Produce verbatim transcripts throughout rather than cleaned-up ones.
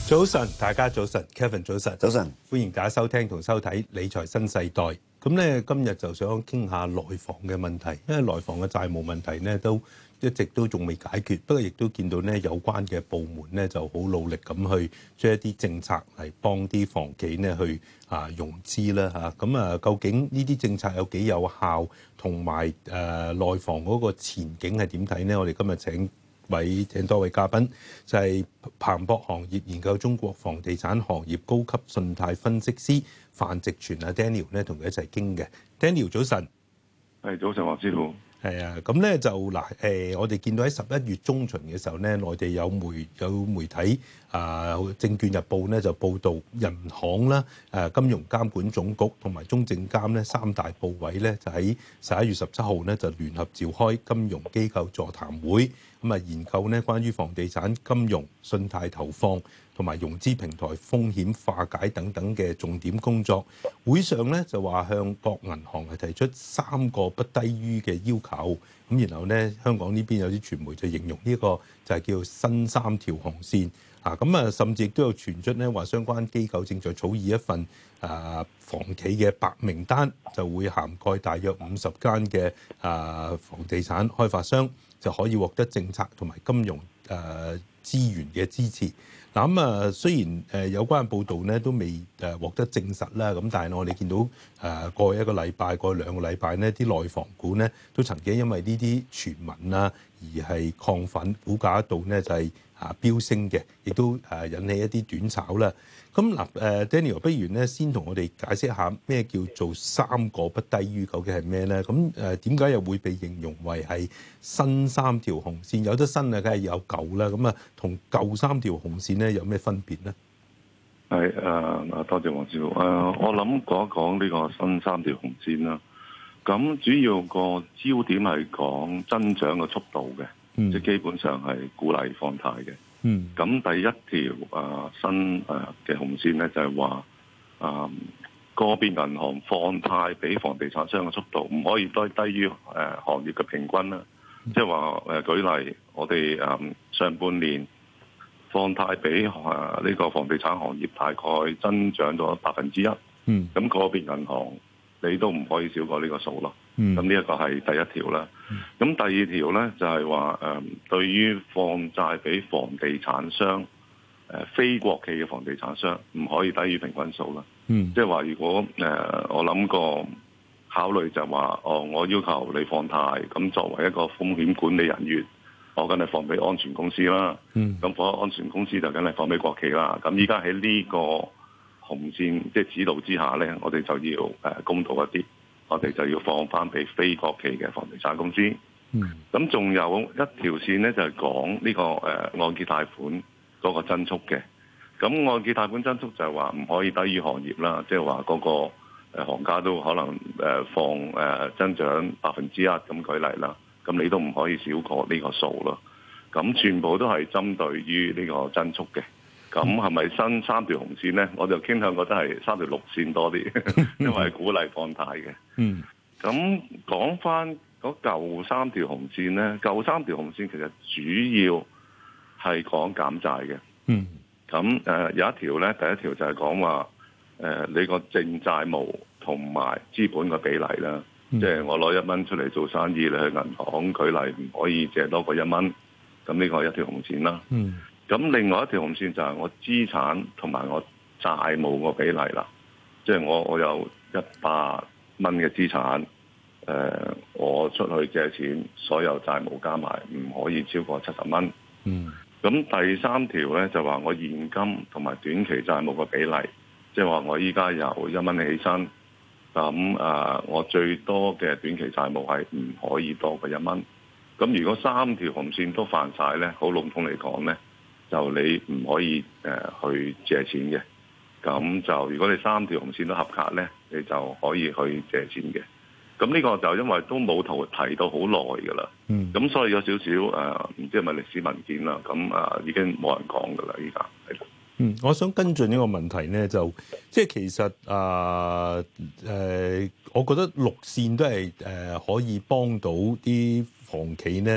早晨，大家早晨 ，Kevin 早晨， 早晨， 歡迎大家收聽同收睇理財新世代。咁咧，今日就想傾下內房嘅問題，因為內房嘅債務問題咧都一直都仲未解決。不過亦都見到咧有關嘅部門咧就好努力咁去將一啲政策嚟幫啲房企咧去啊融資啦嚇。咁啊，究竟呢啲政策有幾有效，同埋誒內房嗰個前景係點睇呢？我哋今日請位請多位嘉賓，就係、是、彭博行業研究中國房地產行業高級信貸分析師范植全啊 Daniel 咧，同佢一齊傾嘅。Daniel 早晨， 係早晨，黃師傅。 係啊，咁咧就嗱誒，我哋見到喺十一月中旬嘅時候咧，內地有媒有媒體啊，《證券日報》咧就報導人行啦、誒金融監管總局同埋中證監咧三大部委咧，就喺十一月十七號咧就聯合召開金融機構座談會，咁啊研究咧關於房地產金融、信貸投放同埋融資平台風險化解等等嘅重點工作。會上咧就話向各銀行係提出三個不低於嘅要求，咁然後咧香港呢邊有啲傳媒就形容呢個就係叫新三條紅線啊，咁啊甚至亦都有傳出咧話相關機構正在草擬一份啊房企嘅白名單，就會涵蓋大約五十間嘅啊房地產開發商，就可以獲得政策同埋金融誒資源嘅支持。嗱咁啊，雖然誒有關嘅報導咧都未誒獲得證實啦，咁但係我哋見到誒過去一個禮拜、過去兩個禮拜呢啲內房股咧都曾經因為呢啲傳聞啊而係亢奮，股價一度咧就係啊飆升嘅，亦都誒引起一啲短炒啦。咁嗱誒 Daniel，不如咧先同我哋解釋下咩叫做三個不低於，究竟係咩咧？咁誒點解又會被形容為係新三條紅線？有得新啊，梗係有舊啦。咁啊，同舊三條紅線咧有咩分別咧？ 係誒啊，多謝黃師傅。誒、呃，我諗講一講呢個新三條紅線啦。咁主要個焦點係講增長嘅速度嘅，嗯、即係基本上係鼓勵放貸嘅。嗯，咁第一條誒、呃、新誒嘅紅線咧，就係話誒個別銀行放貸俾房地產商嘅速度唔可以低低於誒、呃、行業嘅平均啦。嗯、即係話誒舉例，我哋誒、呃、上半年放貸俾誒呢個房地產行業大概增長咗百分之一。嗯，咁個別銀行你都唔可以少過呢個數咯。咁呢一個係第一條啦。咁、嗯、第二條咧就係話誒，對於放債俾房地產商誒、呃、非國企嘅房地產商，唔可以低於平均數啦。嗯，即係話如果誒、呃、我諗過考慮就係話，哦，我要求你放貸，咁作為一個風險管理人員，我梗係放俾安全公司啦。嗯，咁放安全公司就梗係放俾國企啦。咁依家喺呢個紅線即係指導之下咧，我哋就要誒、呃、公道一啲。我哋就要放翻俾非國企嘅房地產公司。嗯，咁仲有一條線咧，就係講呢個誒按揭貸款嗰個增速嘅。咁按揭貸款增速就係話唔可以低於行業啦，即係話嗰個誒行家都可能誒放誒增長百分之一咁舉例啦。咁你都唔可以少過呢個數咯。咁全部都係針對於呢個增速嘅。咁係咪新三條紅線咧？我就傾向覺得係三條綠線多啲，因為係鼓勵放貸嘅。嗯。咁講翻嗰舊三條紅線咧，舊三條紅線其實主要係講減債嘅。嗯。咁誒、呃、有一條咧，第一條就係講話誒你個淨債務同埋資本個比例啦。嗯、即係我攞一蚊出嚟做生意，你去銀行舉例唔可以借多過一蚊。咁呢個係一條紅線啦。嗯。咁另外一條紅線就係我資產同埋我債務個比例啦，即係我我有一百蚊嘅資產，誒、呃、我出去借錢，所有債務加埋唔可以超過七十蚊。嗯。咁第三條咧就話我現金同埋短期債務個比例，即係話我依家由一蚊起身，咁啊我最多嘅短期債務係唔可以多過一蚊。咁如果三條紅線都犯晒咧，好籠統嚟講咧，就你唔可以誒、呃、去借錢嘅，咁就如果你三條紅線都合格咧，你就可以去借錢嘅。咁呢個就因為都冇圖提到好耐㗎啦，咁、嗯、所以有少少誒，唔、呃、知係咪歷史文件啦，咁啊、呃、已經冇人講㗎啦，依家係。 嗯，我想跟進呢個問題咧，就即係其實啊誒、呃呃，我覺得綠線都係誒、呃、可以幫到啲房企咧。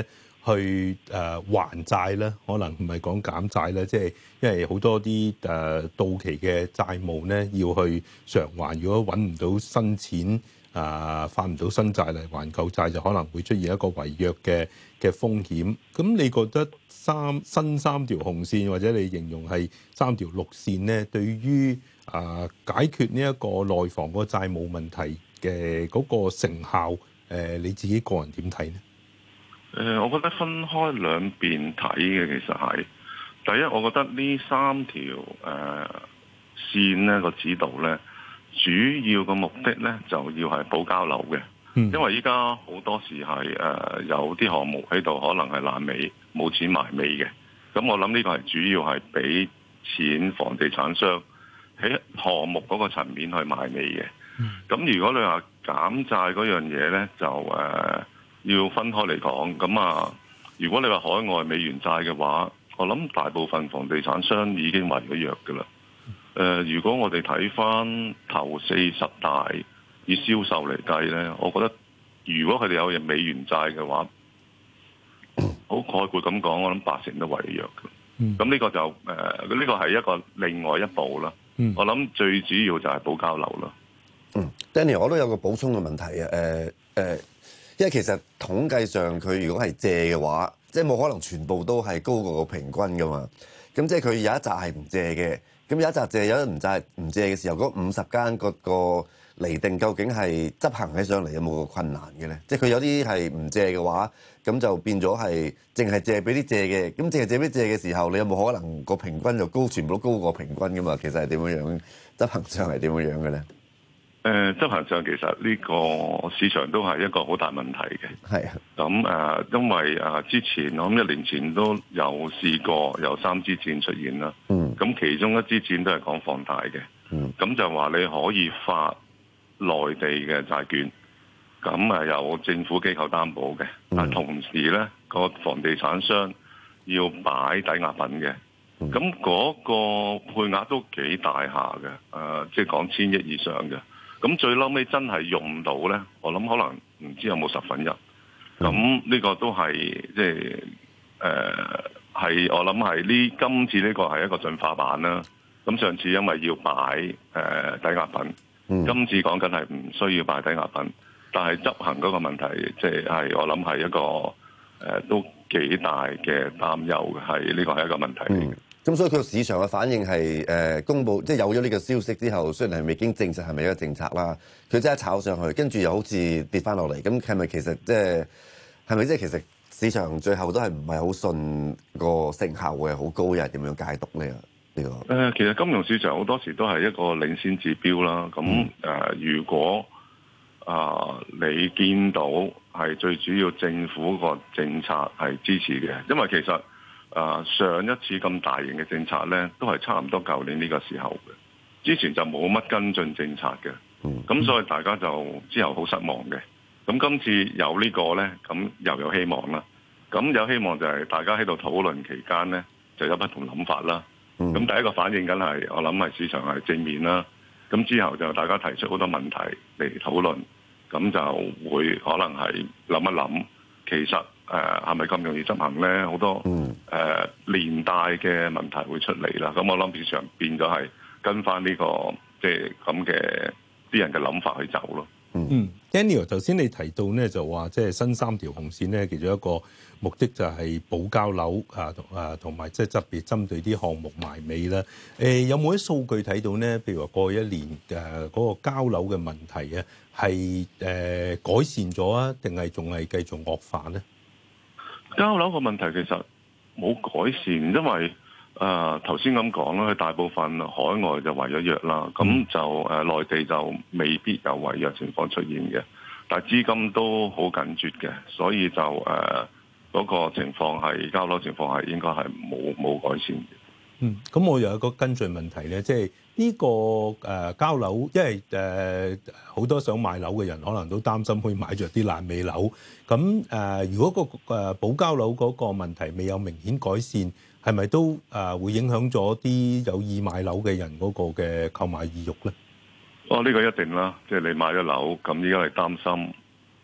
去誒、呃、還債咧，可能唔係講減債咧，即係因為好多啲誒、呃、到期嘅債務咧要去償還，如果揾唔到新錢啊，發唔到新債嚟還舊債，就可能會出現一個違約嘅嘅風險。咁你覺得三新三條紅線，或者你形容係三條綠線咧，對於啊解決呢一個內房個債務問題嘅嗰個成效，誒、呃、你自己個人點睇呢？ 誒、呃，我覺得分開兩邊睇嘅，其實係第一，我覺得呢三條誒、呃、線呢個指導咧，主要嘅目的咧就要係保交樓嘅，嗯、因為依家好多時係誒、呃、有啲項目喺度，可能係爛尾，冇錢埋尾嘅。咁我諗呢個係主要係俾錢房地產商喺項目嗰個層面去埋尾嘅。咁、嗯、如果你話減債嗰樣嘢咧，就誒。呃要分開嚟講，咁啊，如果你話海外美元債嘅話，我諗大部分房地產商已經違咗約㗎啦。誒、呃，如果我哋睇翻頭四十大以銷售嚟計咧，我覺得如果佢哋有美元債嘅話，好概括咁講，我諗八成都違約嘅。咁呢、嗯、個就誒，呢、呃呢個係一個另外一步啦。嗯、我諗最主要就係保交樓啦。 嗯，Danny，我都有個補充嘅問題啊。誒、呃、誒。呃因為其實統計上佢如果係借嘅話，即係冇可能全部都係高過個平均噶嘛。咁即係佢有一紮係唔借嘅，咁有一紮借，有一唔債唔借嘅時候，嗰五十間個個釐定究竟係執行起上嚟有冇個困難嘅咧？即係佢有啲係唔借嘅話，咁就變咗係淨係借俾啲借嘅。咁淨係借俾借嘅時候，你有冇可能個平均就高，全部都高過平均噶嘛？其實係點樣樣執行上係點樣樣嘅咧？ 誒、呃、執行上其實呢個市場都係一個好大問題嘅。係啊的，咁誒、呃，因為誒、呃、之前我諗一年前都有試過有三支箭出現啦。嗯。咁其中一支箭都係講放貸嘅。嗯。咁就話你可以發內地嘅債券，咁誒有政府機構擔保嘅，嗯、但同時咧個房地產商要擺抵押品嘅。咁嗰、嗯、個配額都幾大下嘅，誒、呃，即係講千億以上嘅。咁最嬲尾真係用到咧，我諗可能唔知有冇十分一。咁呢個都係即係誒係我諗係呢今次呢個係一個進化版啦。咁上次因為要擺誒、呃、抵押品，嗯、今次講緊係唔需要擺抵押品，但係執行嗰個問題即係係我諗係一個誒、呃、都幾大嘅擔憂嘅，係呢個係一個問題嚟嘅。嗯咁所以佢個市場嘅反應係誒、呃、公佈，即係有咗呢個消息之後，雖然係未經證實係咪一個政策啦，佢真係炒上去，跟住又好似跌翻落嚟。咁係咪其實即係係咪即係其實市場最後都係唔係好信個成效會係好高，又係點樣解讀呢？呢、呢個誒、呃，其實金融市場好多時都係一個領先指標啦。咁誒、呃，如果啊、呃、你見到係最主要政府個政策係支持嘅，因為其實誒、uh, 上一次咁大型嘅政策咧，都係差唔多舊年呢個時候嘅，之前就冇乜跟進政策嘅，咁、嗯、所以大家就之後好失望嘅。咁今次有個呢個咧，咁又有希望啦。咁有希望就係大家喺度討論期間咧，就有不同諗法啦。咁、嗯、第一個反應緊係我諗係市場係正面啦。咁之後就大家提出好多問題嚟討論，咁就會可能係諗一諗，其實。誒係咪咁容易執行咧？好多誒、嗯呃、連帶嘅問題會出嚟啦。咁我諗市場變咗係跟翻呢、這個即係咁嘅啲人嘅諗法去走咯。嗯 Daniel 頭先你提到咧就話即係新三條紅線咧，其中一個目的就係保交樓啊，同啊同埋即係特別針對啲項目埋尾啦。誒、呃、有冇啲數據睇到咧？譬如話過去一年誒嗰、啊那個交樓嘅問題啊，係誒、呃、改善咗啊，定係仲係繼續惡化咧？ 交樓個問題其實冇改善，因為誒頭先咁講啦，佢大部分海外就違咗約啦，咁、嗯、就誒、呃、內地就未必有違約情況出現嘅，但係資金都好緊絀嘅，所以就誒嗰、呃那個情況係交樓情況係應該係冇冇改善嘅。 嗯，咁我又有一個跟進問題咧，即係呢個誒、呃、交樓，因為誒好、呃、多想買樓嘅人可能都擔心會買着啲爛尾樓。咁誒、呃，如果、個誒、呃、保交樓嗰個問題未有明顯改善，係咪都誒、呃、會影響咗啲有意買樓嘅人嗰個嘅購買意欲咧？ 哦，呢、呢個一定啦，即係你買咗樓，咁依家係擔心誒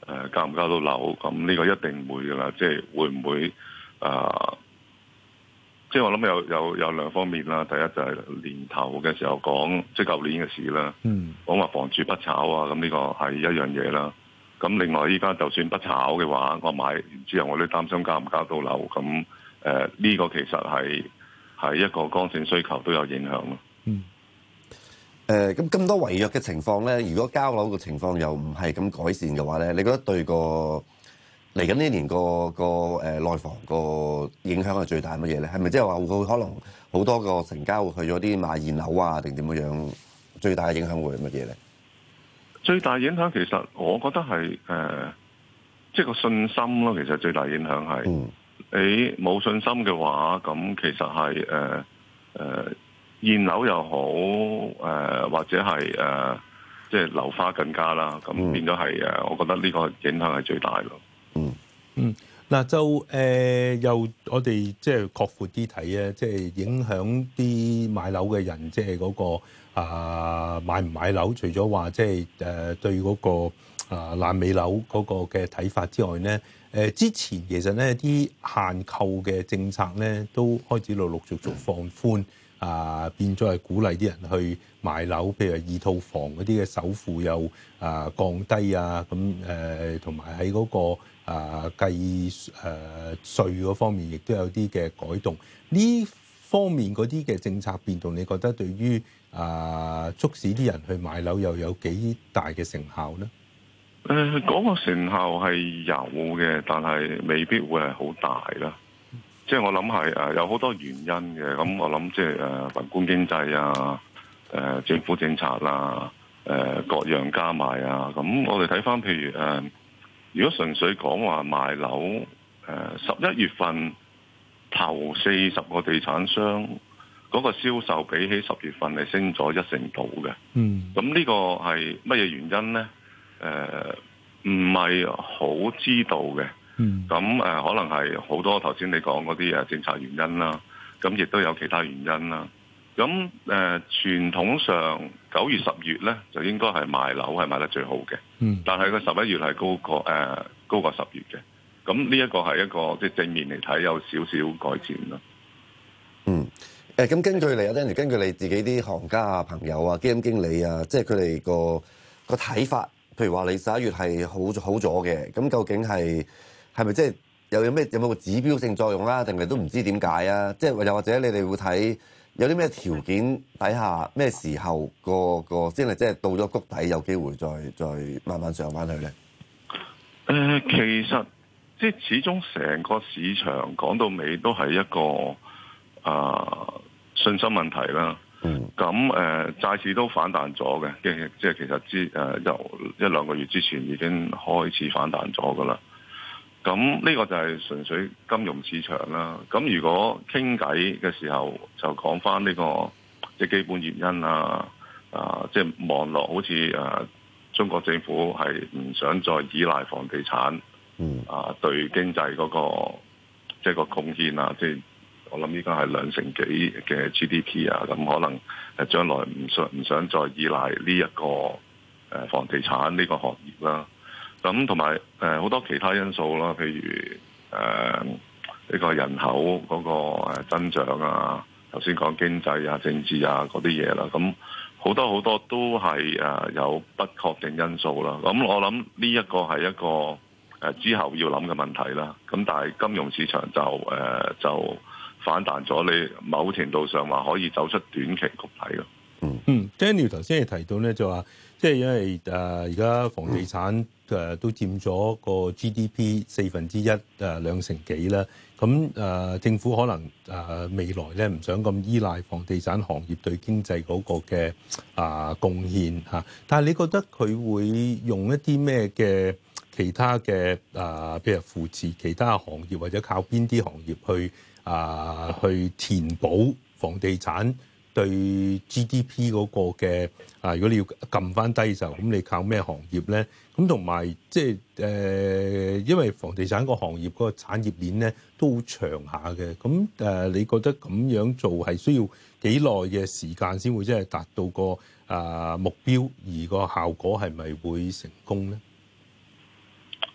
誒交唔交到樓，咁呢個一定會㗎啦。即係會唔會啊？呃即係我諗有有有兩方面啦。第一就係年頭嘅時候講，即係舊年嘅事啦。 嗯，講話房住不炒啊，咁呢個係一樣嘢啦。咁另外依家就算不炒嘅話，我買完之後我都擔心交唔交到樓。咁誒呢個其實係係一個剛性需求都有影響咯。 嗯。 誒咁咁多違約嘅情況咧，如果交樓嘅情況又唔係咁改善嘅話咧，你覺得對個嚟緊呢年個個誒內房個影響係最大乜嘢咧？係咪即係話會可能好多個成交會去咗啲買現樓啊，定點樣樣？最大嘅影響會係乜嘢咧？ 最大影響其實我覺得係誒，即係個信心咯。其實最大影響係， 嗯、 你冇信心嘅話，咁其實係誒誒現樓又好誒、呃，或者係誒、呃、即係樓花更加啦。咁變咗係誒，我覺得呢個影響係最大咯。 嗯嗯，嗱就誒、呃、又我哋即係擴闊啲睇啊，即係影響啲買樓嘅人，即係嗰個啊、呃、買唔買樓，除咗話即係誒對嗰個啊爛尾樓嗰個嘅睇法之外咧，誒、呃、之前其實咧啲限購嘅政策咧都開始陸陸續續放寬。啊，變咗係鼓勵啲人去買樓，譬如二套房嗰啲嘅首付又啊降低啊，咁誒同埋喺嗰個啊計誒稅嗰方面，亦都有啲嘅改動。呢方面嗰啲嘅政策變動，你覺得對於啊促使啲人去買樓又有幾大嘅成效咧？ 誒、呃，嗰、那個成效係有嘅，但係未必會係好大啦。即係我諗係誒有好多原因嘅，咁我諗即係誒宏觀經濟啊、誒、呃、政府政策啦、誒、呃、各樣加埋啊，咁我哋睇翻譬如誒、呃，如果純粹講話賣樓，誒十一月份頭四十個地產商嗰、那個銷售比起十月份係升咗一成度嘅。嗯，咁呢個係乜嘢原因咧？誒唔係好知道嘅。嗯，咁誒、呃、可能係好多頭先你講嗰啲誒政策原因啦，咁亦都有其他原因啦。咁誒、呃、傳統上九月十月咧就應該係賣樓係賣得最好嘅，嗯，但係個十一月係高過誒、呃、高過十月嘅。咁呢一個係一個即係正面嚟睇有少少改善咯。 嗯，誒咁根據你啊 Danny 根據你自己啲行家啊、朋友啊、基金經理啊，即係佢哋個個睇法，譬如話你十一月係好好咗嘅，咁究竟係？係咪即係又有咩有冇個指標性作用啦？定係都唔知點解啊？即係又或者你哋會睇有啲咩條件底下咩時候個個先係即係到咗谷底有機會再再慢慢上翻去咧？ 誒、呃，其實即係始終成個市場講到尾都係一個啊、呃、信心問題啦。嗯。咁誒、呃、債市都反彈咗嘅，即係即係其實之誒由一兩個月之前已經開始反彈咗噶啦。咁呢個就係純粹金融市場啦。咁如果傾偈嘅時候就講翻呢個即係基本原因啊，啊即係望落好似誒中國政府係唔想再依賴房地產，嗯啊對經濟嗰個即係個貢獻啊，即係我諗依家係兩成幾嘅 G D P 啊，咁可能誒將來唔想唔想再依賴呢一個誒房地產呢個行業啦。咁同埋誒好多其他因素啦，譬如誒呢、呃這個人口嗰個增長啊，頭先講經濟啊、政治啊嗰啲嘢啦，咁好多好多都係誒有不確定因素啦。咁我諗呢一個係一個誒之後要諗嘅問題啦。咁但係金融市場就誒、呃、就反彈咗，你某程度上話可以走出短期谷底咯。 嗯，Daniel 頭先係提到咧，就話即係因為誒而家房地產誒都佔咗個 G D P 四分之一誒兩成幾啦。咁誒、呃、政府可能誒、呃、未來咧唔想咁依賴房地產行業對經濟嗰個嘅啊貢獻嚇。但係你覺得佢會用一啲咩嘅其他嘅啊，譬如扶持其他行業，或者靠邊啲行業去啊、呃、去填補房地產對 G D P 嗰個嘅啊，如果你要撳翻低就咁，你靠咩行業咧？咁同埋即係誒，因為房地產個行業嗰個產業鏈咧都好長下嘅。咁誒、呃，你覺得咁樣做係需要幾耐嘅時間先會真係達到個啊、呃、目標，而個效果係咪會成功咧？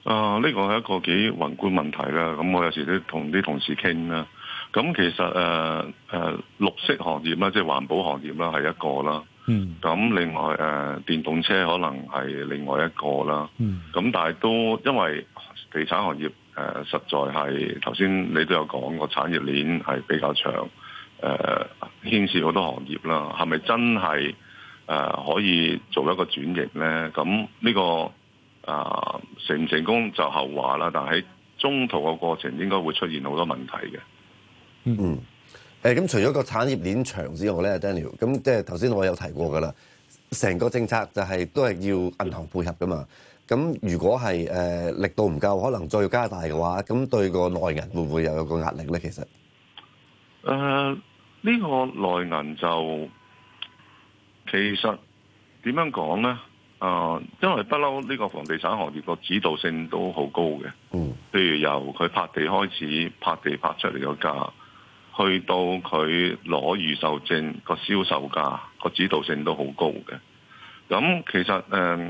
啊，呢個係一個幾宏觀問題啦。咁我有時都同啲同事傾啦。咁其實誒誒、呃呃、綠色行業啦，即係環保行業啦，係一個啦。 嗯。 咁另外誒、呃、電動車可能係另外一個啦。 嗯。 咁但係都因為地產行業誒、呃、實在係頭先你都有講個產業鏈係比較長，誒、呃、牽涉好多行業啦。係咪真係誒、呃、可以做一個轉型咧？咁呢、呢個啊、呃，成唔成功就後話啦，但係喺中途嘅過程應該會出現好多問題嘅。 嗯，誒咁除咗個產業鏈長之外咧 ，Daniel，咁即係頭先我有提過噶啦，成個政策就係都係要銀行配合噶嘛。咁如果係誒、呃、力度唔夠，可能再要加大嘅話，咁對個內銀會唔會又有個壓力咧？其實，誒、 呃、呢、呢個內銀就其實點樣講咧？啊、呃，因為不嬲呢個房地產行業個指導性都好高嘅。 嗯， 譬如由佢拍地開始，拍地拍出嚟個價，去到佢攞預售證個銷售價，個指導性都好高嘅。咁其實誒、呃，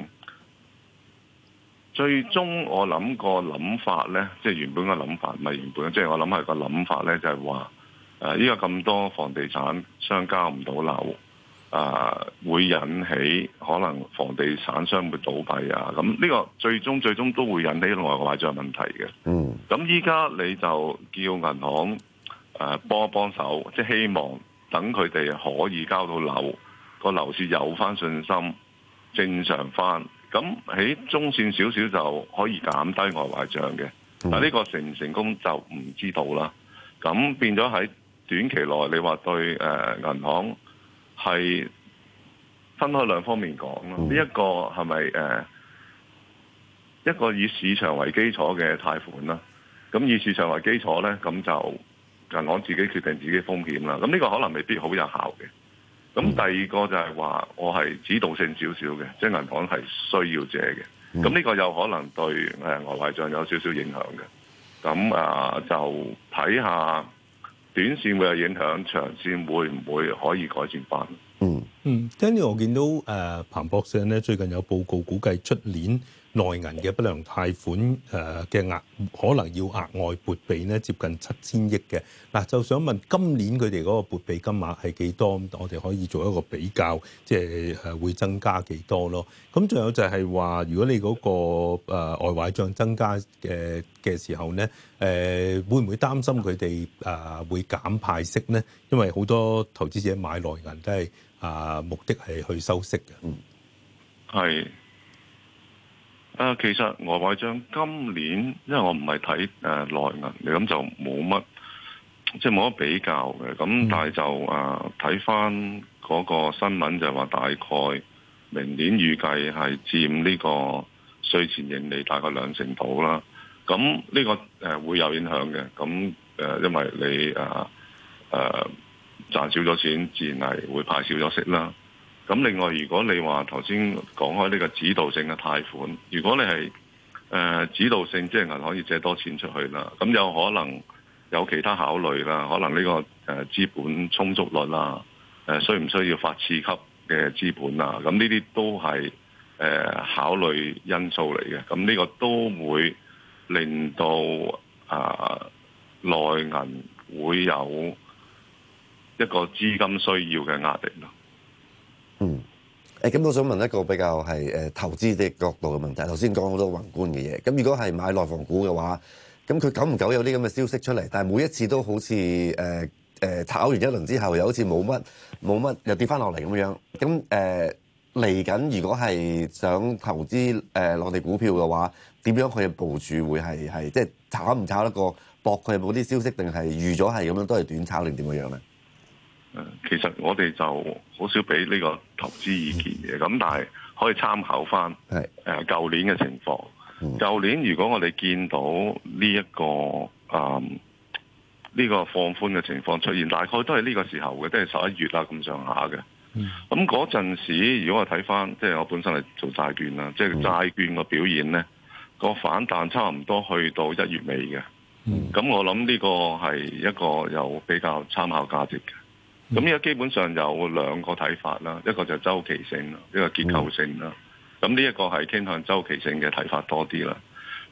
最終我諗個諗法咧，即係原本嘅諗法，唔係原本，即係我諗係個諗法咧，就係話誒，依家咁多房地產商交唔到樓。啊，會引起可能房地產商會倒閉啊！咁呢個最終最終都會引起內壞賬問題嘅。 嗯，咁依家你就叫銀行誒幫一幫手，即係希望等佢哋可以交到樓，個樓市有翻信心，正常翻。咁喺中線少少就可以減低外壞賬嘅。但呢個成唔成功就唔知道啦。咁變咗喺短期內，你話對誒銀行係分開兩方面講咯，呢、嗯、一個係咪誒一個以市場為基礎嘅貸款啦？咁以市場為基礎咧，咁就銀行自己決定自己風險啦。咁呢個可能未必好有效嘅。咁第二個就係話我係指導性少少嘅，即係銀行係需要借嘅。咁呢個有可能對誒外壞賬有少少影響嘅。咁啊就睇下。短線會有影響，長線會唔會可以改善翻？ 嗯嗯，跟住我見到誒、呃、彭博社咧最近有報告估計出年內銀嘅不良貸款誒嘅額可能要額外撥備咧接近七千億嘅。嗱、啊，就想問今年佢哋嗰個撥備金額係幾多？我哋可以做一個比較，即係誒會增加幾多咯？咁仲有就係話，如果你嗰、那個誒、呃、外壞賬增加嘅嘅時候咧，誒、呃、會唔會擔心佢哋誒會減派息咧？因為好多投資者買內銀都係啊、呃、目的係去收息嘅。嗯， 係。誒、呃，其實外壞賬今年，因為我唔係睇誒內銀，咁就冇乜，即係冇乜比較嘅。咁但係就誒睇翻嗰個新聞就話，大概明年預計係佔呢個稅前盈利大概兩成度啦。咁呢、這個誒、呃、會有影響嘅。咁誒、呃，因為你誒誒、呃呃、賺少咗錢，自然係會派少咗息啦。咁另外，如果你話頭先講開呢個指導性嘅貸款，如果你係誒、呃、指導性，即係銀行要借多錢出去啦，咁有可能有其他考慮啦，可能呢、這個誒、呃、資本充足率啦，誒、呃、需唔需要發次級嘅資本啊？咁呢啲都係誒、呃、考慮因素嚟嘅。咁呢個都會令到啊、呃、內銀會有一個資金需要嘅壓力咯。 嗯，誒咁，我想問一個比較係誒投資嘅角度嘅問題。頭先講好多宏觀嘅嘢，咁如果係買內房股嘅話，咁佢久唔久有啲咁嘅消息出嚟，但係每一次都好似誒誒炒完一輪之後，又好似冇乜冇乜又跌翻落嚟咁樣。咁誒嚟緊，如果係想投資誒內地股票嘅話，點樣去部署會係係即係炒唔炒得過博佢有冇啲消息，定係預咗係咁樣都係短炒定點樣樣咧？ 其實我哋就好少俾呢個投資意見嘅，咁但係可以參考翻誒舊年嘅情況。舊年如果我哋見到呢、這、一個誒呢、嗯這個放寬嘅情況出現，大概都係呢個時候嘅，都係十一月啦咁上下嘅。咁嗰陣時，如果我睇翻，即係我本身係做債券啦，即係債券個表現咧，個反彈差唔多去到一月尾嘅。咁、嗯、我諗呢個係一個有比較參考價值嘅。咁而家基本上有兩個睇法啦，一個就周期性啦，一個結構性啦。咁呢一個係傾向周期性嘅睇法多啲啦。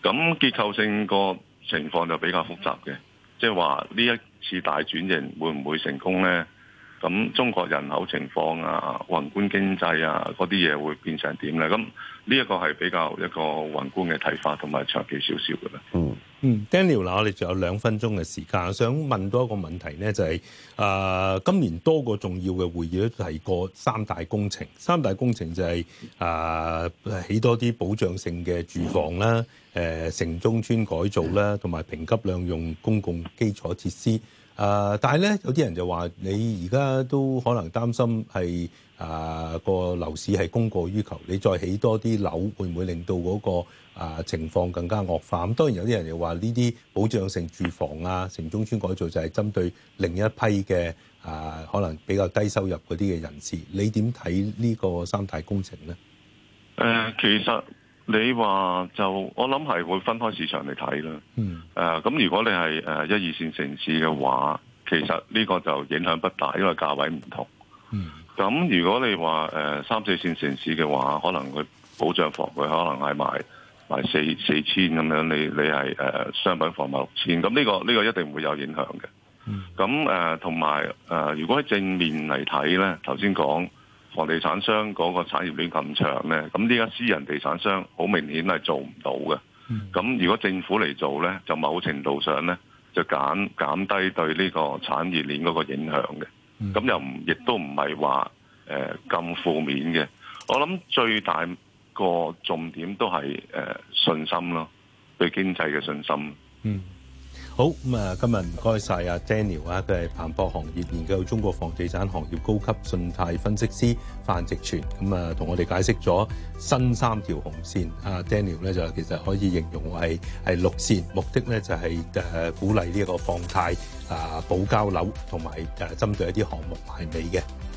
咁結構性個情況就比較複雜嘅，即係話呢一次大轉型會唔會成功呢？咁中國人口情況啊、宏觀經濟啊嗰啲嘢會變成點呢？咁呢一個係比較一個宏觀嘅睇法，同埋長期少少嘅啦。 嗯嗯 ，Daniel 嗱，我哋仲有兩分鐘嘅時間，我想問多一個問題呢，就係、是、啊、呃，今年多個重要嘅會議都提過三大工程，三大工程就係、是、啊、呃、起多啲保障性嘅住房啦，誒、呃、城中村改造啦，同埋評級兩用公共基礎設施。啊、呃！但係咧，有啲人就話你而家都可能擔心係啊個樓市係供過於求，你再起多啲樓，會唔會令到嗰、那個啊、呃、情況更加惡化？咁當然有啲人又話呢啲保障性住房啊、城中村改造就係針對另一批嘅啊、呃、可能比較低收入嗰啲嘅人士。你點睇呢個三大工程咧？ 誒、呃，其實。你話就我諗係會分開市場嚟睇啦。嗯。誒、呃，咁如果你係誒一二線城市嘅話，其實呢個就影響不大，因為價位唔同。嗯。咁如果你話誒、呃、三四線城市嘅話，可能佢保障房佢可能係賣賣四四千咁樣，你你係誒、呃、商品房賣六千，咁呢個呢、呢個一定會有影響嘅。嗯。咁誒同埋誒，如果喺正面嚟睇咧，頭先講。房地產商嗰個產業鏈咁長咧，咁呢家私人地產商好明顯係做唔到嘅。咁、嗯、如果政府嚟做咧，就某程度上咧就減減低對呢個產業鏈嗰個影響嘅。咁、嗯、又唔亦都唔係話誒咁負面嘅。我諗最大個重點都係誒、呃、信心咯，對經濟嘅信心。 嗯。好咁啊！今日唔該晒阿 Daniel 啊，佢係彭博行業研究中國房地產行業高級信貸分析師范植全，咁啊同我哋解釋咗新三條紅線。阿 Daniel 咧就其實可以形容為係綠線，目的咧就係誒鼓勵呢一個放貸啊、保交樓同埋誒針對一啲項目埋尾嘅。